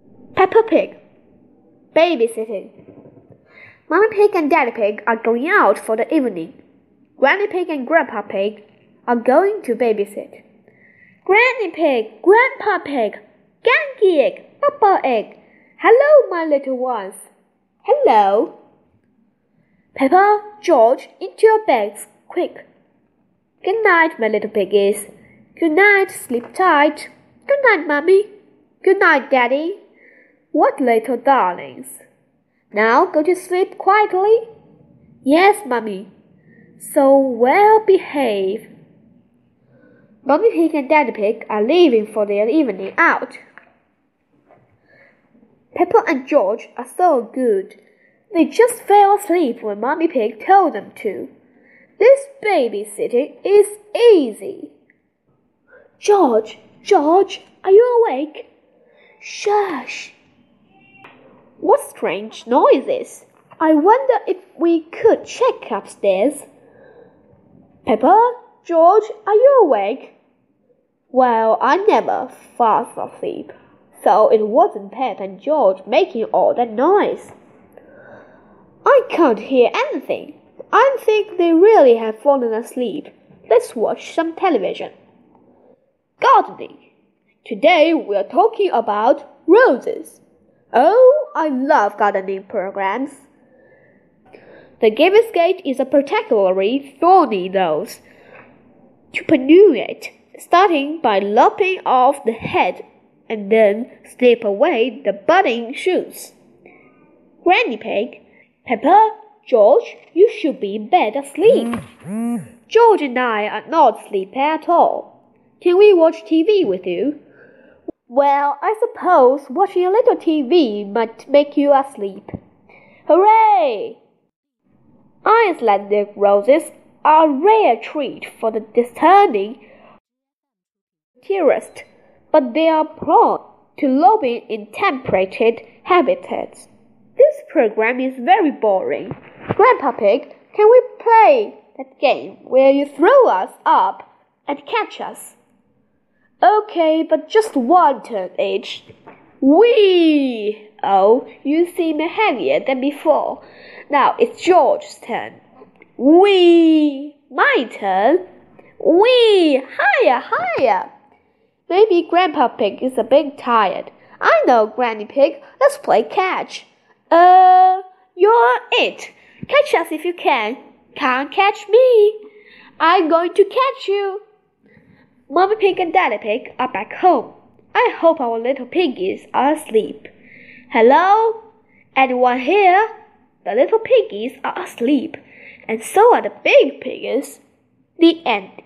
Peppa Pig. Babysitting. Mommy Pig and Daddy Pig are going out for the evening. Granny Pig and Grandpa Pig are going to babysit. Granny Pig, Grandpa Pig, Ganky Egg, Papa Egg. Hello, my little ones. Hello. Peppa, George, into your beds, quick. Good night, my little piggies. Good night, sleep tight. Good night, Mommy. Good night, Daddy. What little darlings. Now go to sleep quietly. Yes, Mommy. So well behave. Mommy Pig and Daddy Pig are leaving for their evening out. Peppa and George are so good. They just fell asleep when Mommy Pig told them to. This babysitting is easy. George, are you awake? Shush. What strange noises? I wonder if we could check upstairs. Peppa, George, are you awake? Well, I never fast asleep, so it wasn't Pep and George making all that noise. I can't hear anything. I think they really have fallen asleep. Let's watch some television. Gardening. Today we are talking about roses. Oh, I love gardening programs. The Giver's Gate is a particularly thorny rose. To prune it, starting by lopping off the head and then snip away the budding shoots. Granny Pig, Peppa, George, you should be in bed asleep. George and I are not sleepy at all. Can we watch TV with you? Well, I suppose watching a little TV might make you asleep. Hooray! Icelandic roses are a rare treat for the discerning tourist, but they are prone to lobbing in temperate habitats. This program is very boring. Grandpa Pig, can we play that game where you throw us up and catch us? Okay, but just one turn each. Whee! Oh, you seem heavier than before. Now it's George's turn. Whee! My turn. Whee! Higher! Maybe Grandpa Pig is a bit tired. I know, Granny Pig. Let's play catch. You're it. Catch us if you can. Can't catch me. I'm going to catch you. Mommy Pig and Daddy Pig are back home. I hope our little piggies are asleep. Hello? Anyone here? The little piggies are asleep, and so are the big piggies. The end.